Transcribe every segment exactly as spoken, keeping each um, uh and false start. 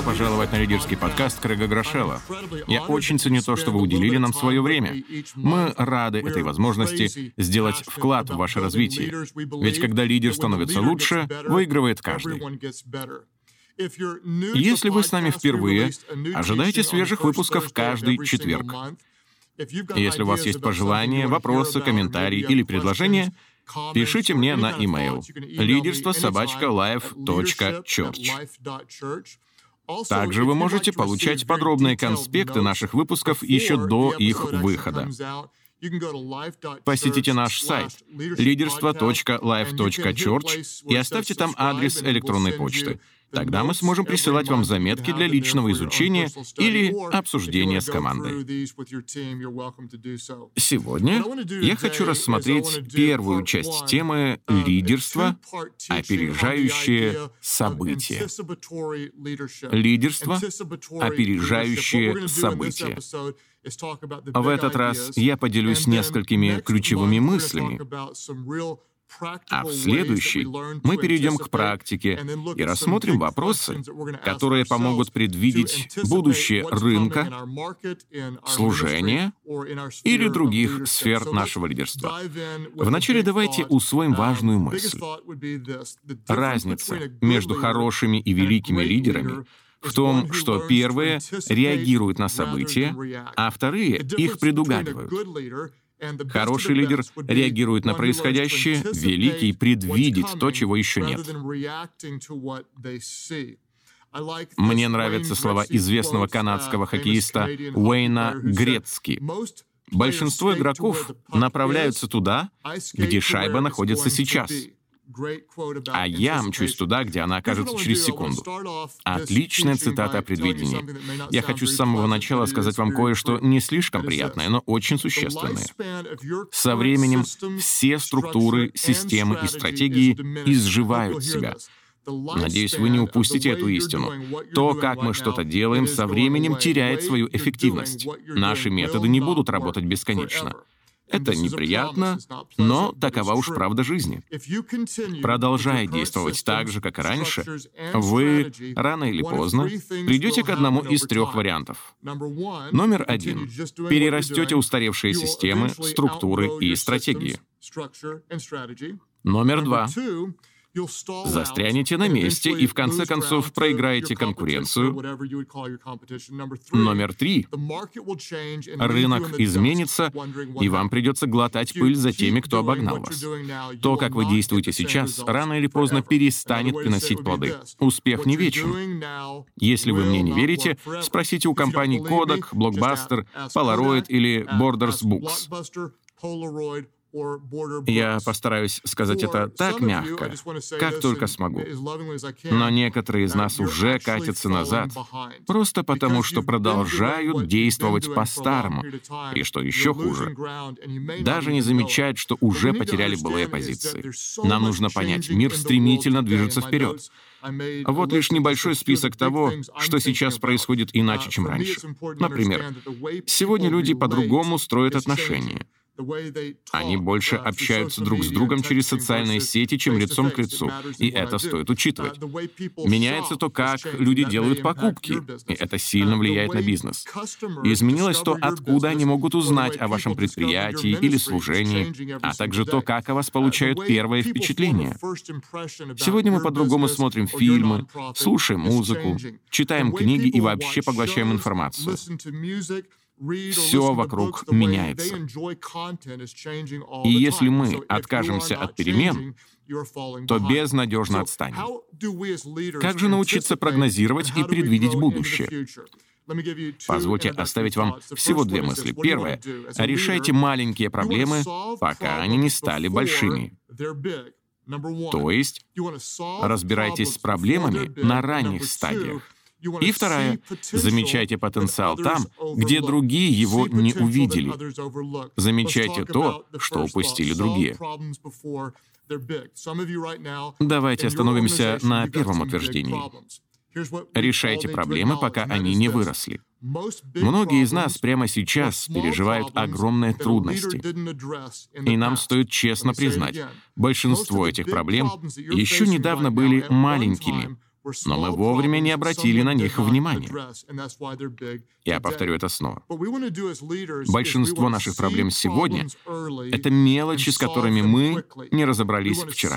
Добро пожаловать на лидерский подкаст Крэга Грошелла. Я очень ценю то, что вы уделили нам свое время. Мы рады этой возможности сделать вклад в ваше развитие. Ведь когда лидер становится лучше, выигрывает каждый. Если вы с нами впервые, ожидайте свежих выпусков каждый четверг. Если у вас есть пожелания, вопросы, комментарии или предложения, пишите мне на e-mail лидерство собака лайф точка чёрч. Также вы можете получать подробные конспекты наших выпусков еще до их выхода. Посетите наш сайт лидерство точка лайф точка чёрч и оставьте там адрес электронной почты. Тогда мы сможем присылать вам заметки для личного изучения или обсуждения с командой. Сегодня я хочу рассмотреть первую часть темы «Лидерство. Опережающее события». Лидерство. Опережающее события. В этот раз я поделюсь несколькими ключевыми мыслями, а в следующий мы перейдем к практике и рассмотрим вопросы, которые помогут предвидеть будущее рынка, служения или других сфер нашего лидерства. Вначале давайте усвоим важную мысль. Разница между хорошими и великими лидерами в том, что первые реагируют на события, а вторые их предугадывают. Хороший лидер реагирует на происходящее, великий предвидит то, чего еще нет. Мне нравятся слова известного канадского хоккеиста Уэйна Грецки. Большинство игроков направляются туда, где шайба находится сейчас. А я мчусь туда, где она окажется через секунду. Отличная цитата о предвидении. Я хочу с самого начала сказать вам кое-что не слишком приятное, но очень существенное. Со временем все структуры, системы и стратегии изживают себя. Надеюсь, вы не упустите эту истину. То, как мы что-то делаем, со временем теряет свою эффективность. Наши методы не будут работать бесконечно. Это неприятно, но такова уж правда жизни. Продолжая действовать так же, как и раньше, вы рано или поздно придете к одному из трех вариантов. Номер один. Перерастете устаревшие системы, структуры и стратегии. Номер два. Застрянете на месте и, в конце концов, проиграете конкуренцию. Номер три. Рынок изменится, и вам придется глотать пыль за теми, кто обогнал вас. То, как вы действуете сейчас, рано или поздно перестанет приносить плоды. Успех не вечен. Если вы мне не верите, спросите у компаний Kodak, Blockbuster, Polaroid или Borders Books. Я постараюсь сказать это так мягко, как только смогу. Но некоторые из нас уже катятся назад, просто потому что продолжают действовать по-старому. И что еще хуже, даже не замечают, что уже потеряли былые позиции. Нам нужно понять, мир стремительно движется вперед. Вот лишь небольшой список того, что сейчас происходит иначе, чем раньше. Например, сегодня люди по-другому строят отношения. Они больше общаются друг с другом через социальные сети, чем лицом к лицу, и это стоит учитывать. Меняется то, как люди делают покупки, и это сильно влияет на бизнес. Изменилось то, откуда они могут узнать о вашем предприятии или служении, а также то, как о вас получают первое впечатление. Сегодня мы по-другому смотрим фильмы, слушаем музыку, читаем книги и вообще поглощаем информацию. Все вокруг меняется. И если мы откажемся от перемен, то безнадежно отстанем. Как же научиться прогнозировать и предвидеть будущее? Позвольте оставить вам всего две мысли. Первое. Решайте маленькие проблемы, пока они не стали большими. То есть, разбирайтесь с проблемами на ранних стадиях. И вторая. Замечайте потенциал там, где другие его не увидели. Замечайте то, что упустили другие. Давайте остановимся на первом утверждении. Решайте проблемы, пока они не выросли. Многие из нас прямо сейчас переживают огромные трудности. И нам стоит честно признать, большинство этих проблем еще недавно были маленькими, но мы вовремя не обратили на них внимания. Я повторю это снова. Большинство наших проблем сегодня — это мелочи, с которыми мы не разобрались вчера.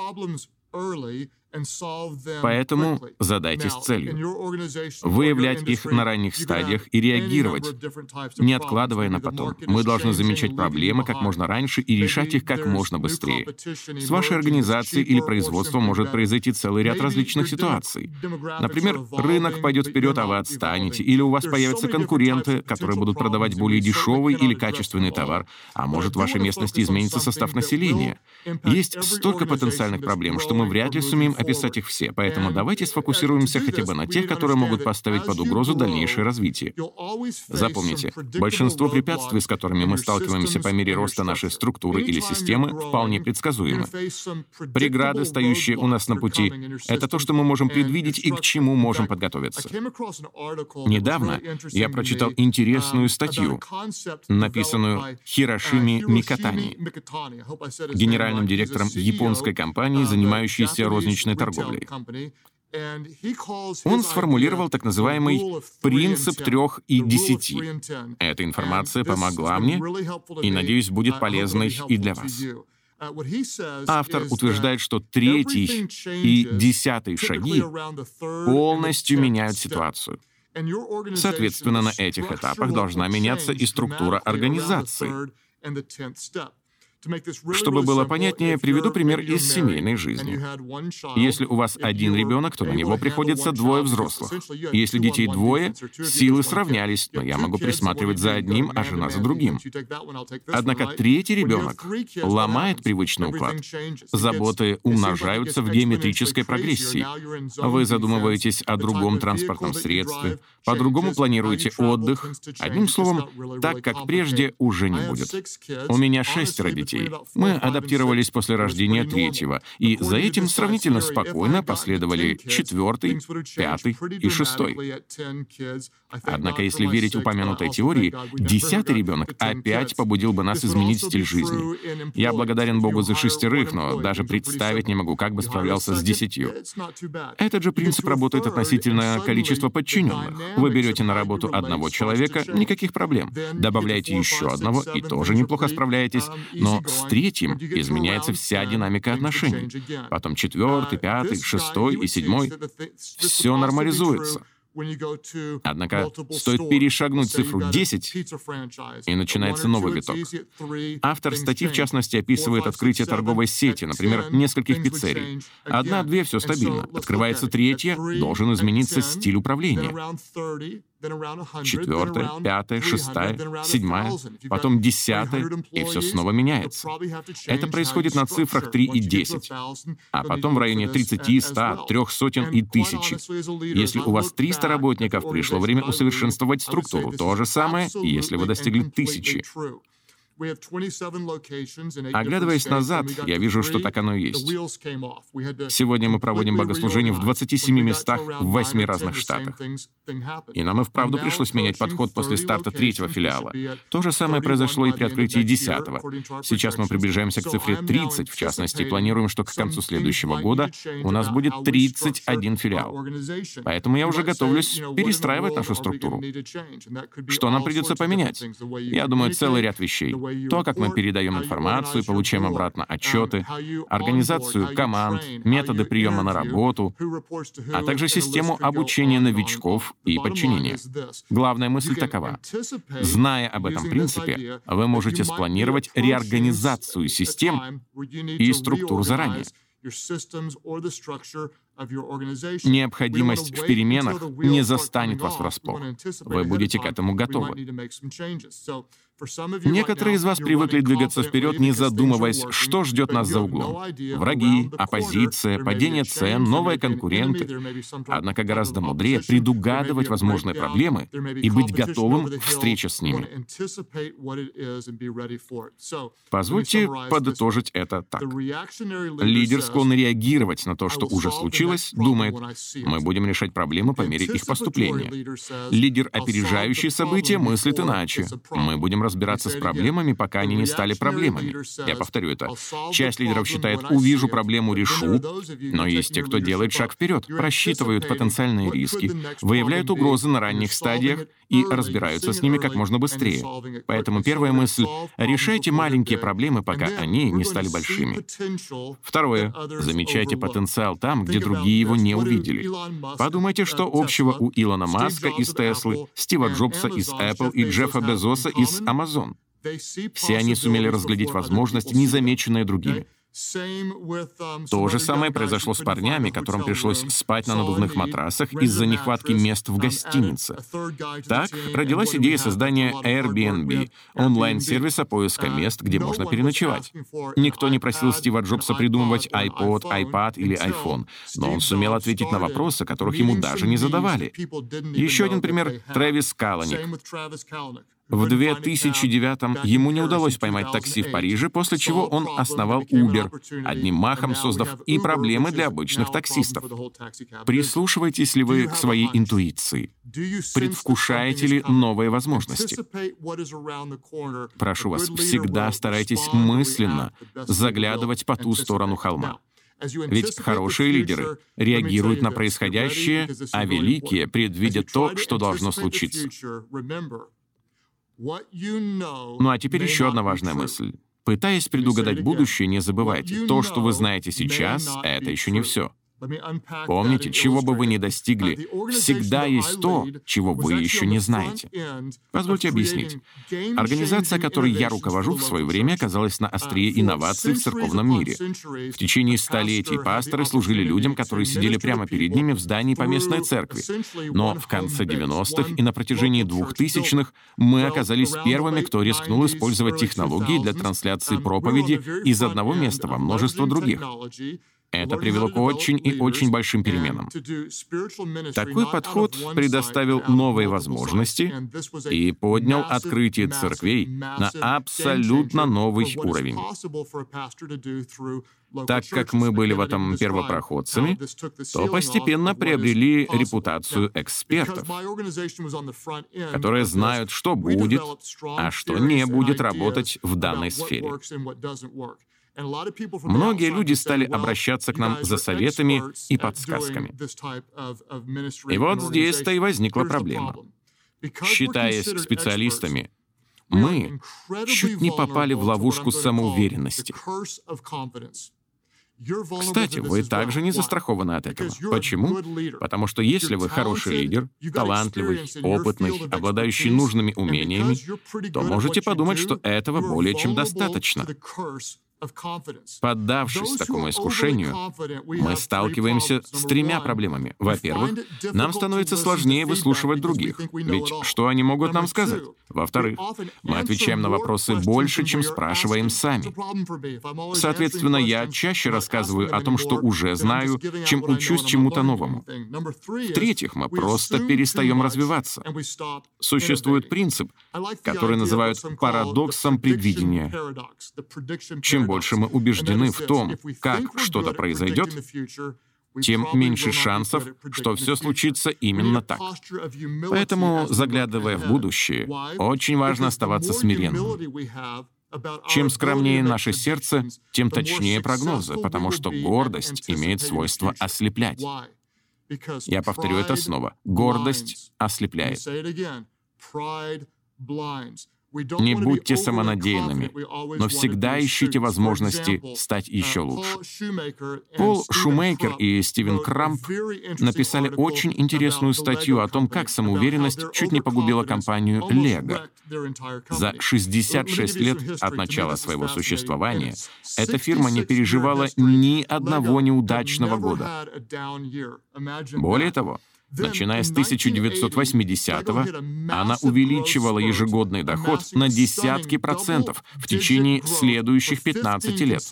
Поэтому задайтесь целью — выявлять их на ранних стадиях и реагировать, не откладывая на потом. Мы должны замечать проблемы как можно раньше и решать их как можно быстрее. С вашей организацией или производством может произойти целый ряд различных ситуаций. Например, рынок пойдет вперед, а вы отстанете, или у вас появятся конкуренты, которые будут продавать более дешевый или качественный товар, а может, в вашей местности изменится состав населения. Есть столько потенциальных проблем, что мы вряд ли сумеем описать их все, поэтому давайте сфокусируемся хотя бы на тех, которые могут поставить под угрозу дальнейшее развитие. Запомните, большинство препятствий, с которыми мы сталкиваемся по мере роста нашей структуры или системы, вполне предсказуемы. Преграды, стоящие у нас на пути, — это то, что мы можем предвидеть и к чему можем подготовиться. Недавно я прочитал интересную статью, написанную Хирошими Микатани, генеральным директором японской компании, занимающейся розничной торговлей. Он сформулировал так называемый «принцип трех и десяти». Эта информация помогла мне и, надеюсь, будет полезной и для вас. Автор утверждает, что третий и десятый шаги полностью меняют ситуацию. Соответственно, на этих этапах должна меняться и структура организации. Чтобы было понятнее, приведу пример из семейной жизни. Если у вас один ребенок, то на него приходится двое взрослых. Если детей двое, силы сравнялись, но я могу присматривать за одним, а жена за другим. Однако третий ребенок ломает привычный уклад. Заботы умножаются в геометрической прогрессии. Вы задумываетесь о другом транспортном средстве, по-другому планируете отдых. Одним словом, так, как прежде, уже не будет. У меня шестеро детей. Мы адаптировались после рождения третьего, и за этим сравнительно спокойно последовали четвертый, пятый и шестой. Однако, если верить упомянутой теории, десятый ребенок опять побудил бы нас изменить стиль жизни. Я благодарен Богу за шестерых, но даже представить не могу, как бы справлялся с десятью. Этот же принцип работает относительно количества подчиненных. Вы берете на работу одного человека, никаких проблем. Добавляете еще одного, и тоже неплохо справляетесь, но с третьим изменяется вся динамика отношений. Потом четвертый, пятый, шестой и седьмой. Все нормализуется. Однако стоит перешагнуть цифру десять, и начинается новый виток. Автор статьи, в частности, описывает открытие торговой сети, например, нескольких пиццерий. Одна-две — все стабильно. Открывается третья, должен измениться стиль управления. Четвертая, пятая, шестая, седьмая, потом десятая, и все снова меняется. Это происходит на цифрах три и десять, а потом в районе тридцати, ста, трех сотен и тысячи. Если у вас триста работников, пришло время усовершенствовать структуру. То же самое, если вы достигли тысячи. Оглядываясь назад, я вижу, что так оно и есть. Сегодня мы проводим богослужение в двадцати семи местах в восьми разных штатах. И нам и вправду пришлось менять подход после старта третьего филиала. То же самое произошло и при открытии десятого. Сейчас мы приближаемся к цифре тридцать, в частности, планируем, что к концу следующего года у нас будет тридцать один филиал. Поэтому я уже готовлюсь перестраивать нашу структуру. Что нам придется поменять? Я думаю, целый ряд вещей. То, как мы передаем информацию, получаем обратно отчеты, организацию команд, методы приема на работу, а также систему обучения новичков и подчинения. Главная мысль такова. Зная об этом принципе, вы можете спланировать реорганизацию систем и структур заранее. Необходимость в переменах не застанет вас врасплох. Вы будете к этому готовы. Некоторые из вас привыкли двигаться вперед, не задумываясь, что ждет нас за углом. Враги, оппозиция, падение цен, новые конкуренты. Однако гораздо мудрее предугадывать возможные проблемы и быть готовым к встрече с ними. Позвольте подытожить это так. Лидер склонен реагировать на то, что уже случилось, случилось, думает: мы будем решать проблемы по мере их поступления. Лидер, опережающий события, мыслит иначе. Мы будем разбираться с проблемами, пока они не стали проблемами. Я повторю это. Часть лидеров считает: увижу проблему, решу. Но есть те, кто делает шаг вперед, просчитывают потенциальные риски, выявляют угрозы на ранних стадиях и разбираются с ними как можно быстрее. Поэтому первая мысль — решайте маленькие проблемы, пока они не стали большими. Второе — замечайте потенциал там, где другие его не увидели. Подумайте, что общего у Илона Маска из Теслы, Стива Джобса из Apple и Джеффа Безоса из Amazon. Все они сумели разглядеть возможности, незамеченные другими. То же самое произошло с парнями, которым пришлось спать на надувных матрасах из-за нехватки мест в гостинице. Так родилась идея создания Airbnb, онлайн-сервиса поиска мест, где можно переночевать. Никто не просил Стива Джобса придумывать iPod, iPad или iPhone, но он сумел ответить на вопросы, которых ему даже не задавали. Еще один пример — Трэвис Каланик. В две тысячи девятом ему не удалось поймать такси в Париже, после чего он основал Uber, одним махом создав и проблемы для обычных таксистов. Прислушиваетесь ли вы к своей интуиции? Предвкушаете ли новые возможности? Прошу вас, всегда старайтесь мысленно заглядывать по ту сторону холма. Ведь хорошие лидеры реагируют на происходящее, а великие предвидят то, что должно случиться. Ну а теперь еще одна важная мысль. Пытаясь предугадать будущее, не забывайте, то, что вы знаете сейчас, это еще не все. Помните, чего бы вы ни достигли, всегда есть то, чего вы еще не знаете. Позвольте объяснить. Организация, которой я руковожу, в свое время оказалась на острие инноваций в церковном мире. В течение столетий пасторы служили людям, которые сидели прямо перед ними в здании поместной церкви. Но в конце девяностых и на протяжении двухтысячных мы оказались первыми, кто рискнул использовать технологии для трансляции проповеди из одного места во множество других. Это привело к очень и очень большим переменам. Такой подход предоставил новые возможности и поднял открытие церквей на абсолютно новый уровень. Так как мы были в этом первопроходцами, то постепенно приобрели репутацию экспертов, которые знают, что будет, а что не будет работать в данной сфере. Многие люди стали обращаться к нам за советами и подсказками. И вот здесь-то и возникла проблема. Считаясь специалистами, мы чуть не попали в ловушку самоуверенности. Кстати, вы также не застрахованы от этого. Почему? Потому что если вы хороший лидер, талантливый, опытный, обладающий нужными умениями, то можете подумать, что этого более чем достаточно. Поддавшись такому искушению, мы сталкиваемся с тремя проблемами. Во-первых, нам становится сложнее выслушивать других, ведь что они могут нам сказать? Во-вторых, мы отвечаем на вопросы больше, чем спрашиваем сами. Соответственно, я чаще рассказываю о том, что уже знаю, чем учусь чему-то новому. В-третьих, мы просто перестаем развиваться. Существует принцип, который называют парадоксом предвидения. Чем больше мы убеждены в том, как что-то произойдет, тем меньше шансов, что все случится именно так. Поэтому, заглядывая в будущее, очень важно оставаться смиренным. Чем скромнее наше сердце, тем точнее прогнозы, потому что гордость имеет свойство ослеплять. Я повторю это снова. Гордость ослепляет. Не будьте самонадеянными, но всегда ищите возможности стать еще лучше. Пол Шумейкер и Стивен Крамп написали очень интересную статью о том, как самоуверенность чуть не погубила компанию Lego. За шестьдесят шесть лет от начала своего существования эта фирма не переживала ни одного неудачного года. Более того, Начиная с тысяча девятьсот восьмидесятого, она увеличивала ежегодный доход на десятки процентов в течение следующих пятнадцати лет.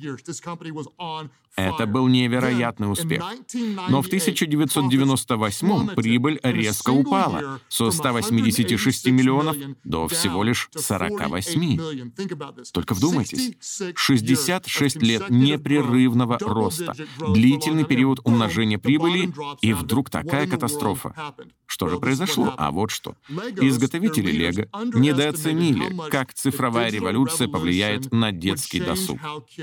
Это был невероятный успех. Но в тысяча девятьсот девяносто восьмом прибыль резко упала со ста восьмидесяти шести миллионов до всего лишь сорока восьми. Только вдумайтесь, шестьдесят шесть лет непрерывного роста, длительный период умножения прибыли, и вдруг такая катастрофа. Что же произошло? А вот что. Изготовители Лего недооценили, как цифровая революция повлияет на детский досуг.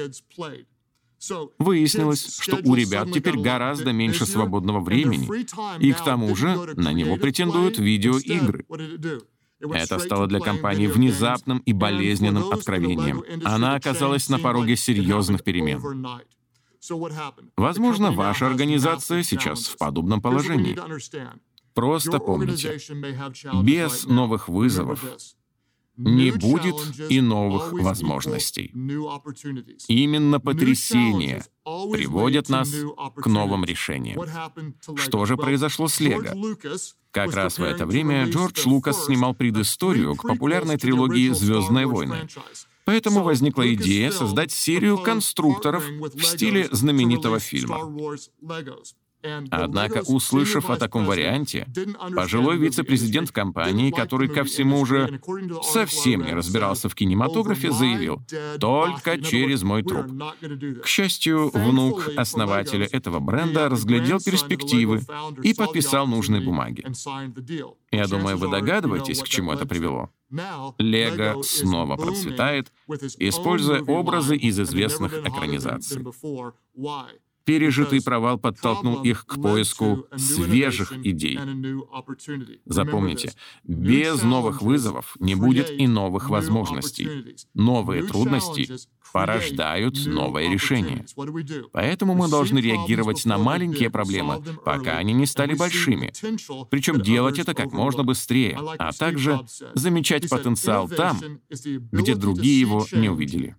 Выяснилось, что у ребят теперь гораздо меньше свободного времени, и к тому же на него претендуют видеоигры. Это стало для компании внезапным и болезненным откровением. Она оказалась на пороге серьезных перемен. Возможно, ваша организация сейчас в подобном положении. Просто помните, без новых вызовов не будет и новых возможностей. Именно потрясения приводят нас к новым решениям. Что же произошло с Лего? Как раз в это время Джордж Лукас снимал предысторию к популярной трилогии «Звездные войны». Поэтому возникла идея создать серию конструкторов в стиле знаменитого фильма. Однако, услышав о таком варианте, пожилой вице-президент компании, который ко всему же совсем не разбирался в кинематографе, заявил: «Только через мой труп». К счастью, внук основателя этого бренда разглядел перспективы и подписал нужные бумаги. Я думаю, вы догадываетесь, к чему это привело. Лего снова процветает, используя образы из известных экранизаций. Пережитый провал подтолкнул их к поиску свежих идей. Запомните, без новых вызовов не будет и новых возможностей. Новые трудности порождают новые решения. Поэтому мы должны реагировать на маленькие проблемы, пока они не стали большими. Причем делать это как можно быстрее, а также замечать потенциал там, где другие его не увидели.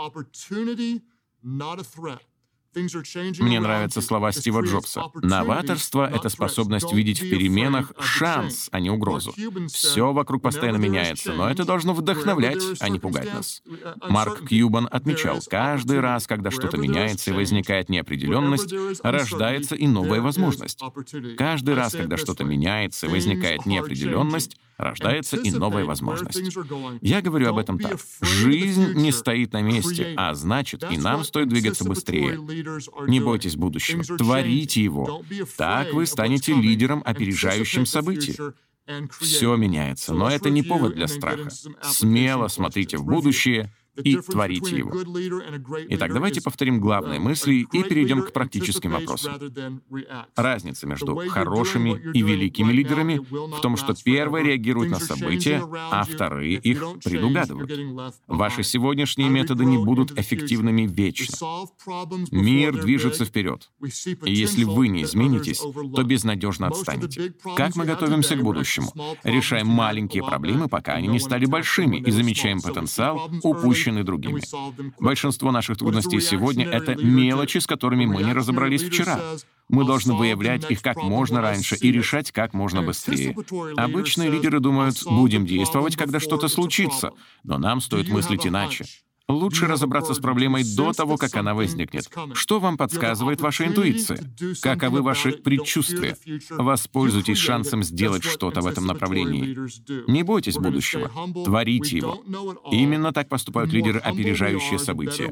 Мне нравятся слова Стива Джобса. Новаторство — это способность видеть в переменах шанс, а не угрозу. Все вокруг постоянно меняется, но это должно вдохновлять, а не пугать нас. Марк Кьюбан отмечал, каждый раз, когда что-то меняется и возникает неопределенность, рождается и новая возможность. Каждый раз, когда что-то меняется и возникает неопределенность, рождается и новая возможность. Я говорю об этом так. Жизнь не стоит на месте, а значит, и нам стоит двигаться быстрее. Не бойтесь будущего, творите его. Так вы станете лидером, опережающим события. Все меняется, но это не повод для страха. Смело смотрите в будущее и творите его. Итак, давайте повторим главные мысли и перейдем к практическим вопросам. Разница между хорошими и великими лидерами в том, что первые реагируют на события, а вторые их предугадывают. Ваши сегодняшние методы не будут эффективными вечно. Мир движется вперед. И если вы не изменитесь, то безнадежно отстанете. Как мы готовимся к будущему? Решаем маленькие проблемы, пока они не стали большими, и замечаем потенциал, упущенный другими. Большинство наших трудностей сегодня — это мелочи, с которыми мы не разобрались вчера. Мы должны выявлять их как можно раньше и решать как можно быстрее. Обычные лидеры думают, будем действовать, когда что-то случится, но нам стоит мыслить иначе. Лучше разобраться с проблемой до того, как она возникнет. Что вам подсказывает ваша интуиция? Каковы ваши предчувствия? Воспользуйтесь шансом сделать что-то в этом направлении. Не бойтесь будущего. Творите его. Именно так поступают лидеры, опережающие события.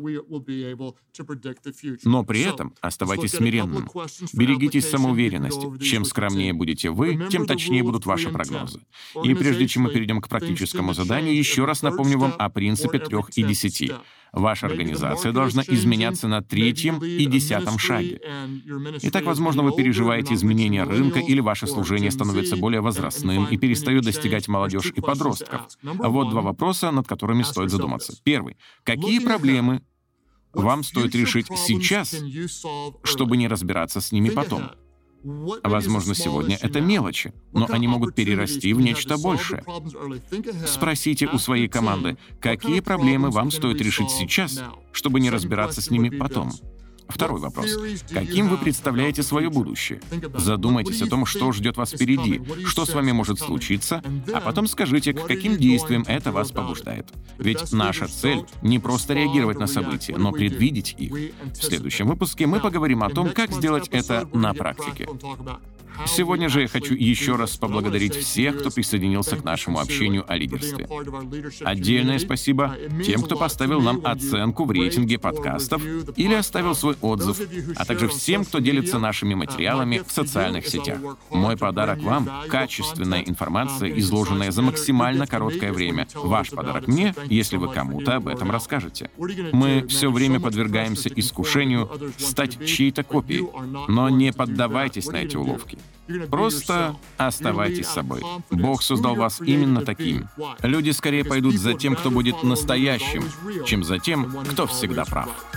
Но при этом оставайтесь смиренным. Берегитесь самоуверенности. Чем скромнее будете вы, тем точнее будут ваши прогнозы. И прежде чем мы перейдем к практическому заданию, еще раз напомню вам о принципе трех и десяти. Ваша организация должна изменяться на третьем и десятом шаге. Итак, возможно, вы переживаете изменения рынка или ваше служение становится более возрастным и перестает достигать молодежь и подростков. Вот два вопроса, над которыми стоит задуматься. Первый. Какие проблемы вам стоит решить сейчас, чтобы не разбираться с ними потом? Возможно, сегодня это мелочи, но они могут перерасти в нечто большее. Спросите у своей команды, какие проблемы вам стоит решить сейчас, чтобы не разбираться с ними потом. Второй вопрос. Каким вы представляете свое будущее? Задумайтесь о том, что ждет вас впереди, что с вами может случиться, а потом скажите, к каким действиям это вас побуждает. Ведь наша цель — не просто реагировать на события, но предвидеть их. В следующем выпуске мы поговорим о том, как сделать это на практике. Сегодня же я хочу еще раз поблагодарить всех, кто присоединился к нашему общению о лидерстве. Отдельное спасибо тем, кто поставил нам оценку в рейтинге подкастов или оставил свой отзыв, а также всем, кто делится нашими материалами в социальных сетях. Мой подарок вам — качественная информация, изложенная за максимально короткое время. Ваш подарок мне, если вы кому-то об этом расскажете. Мы все время подвергаемся искушению стать чьей-то копией, но не поддавайтесь на эти уловки. Просто оставайтесь собой. Бог создал вас именно таким. Люди скорее пойдут за тем, кто будет настоящим, чем за тем, кто всегда прав.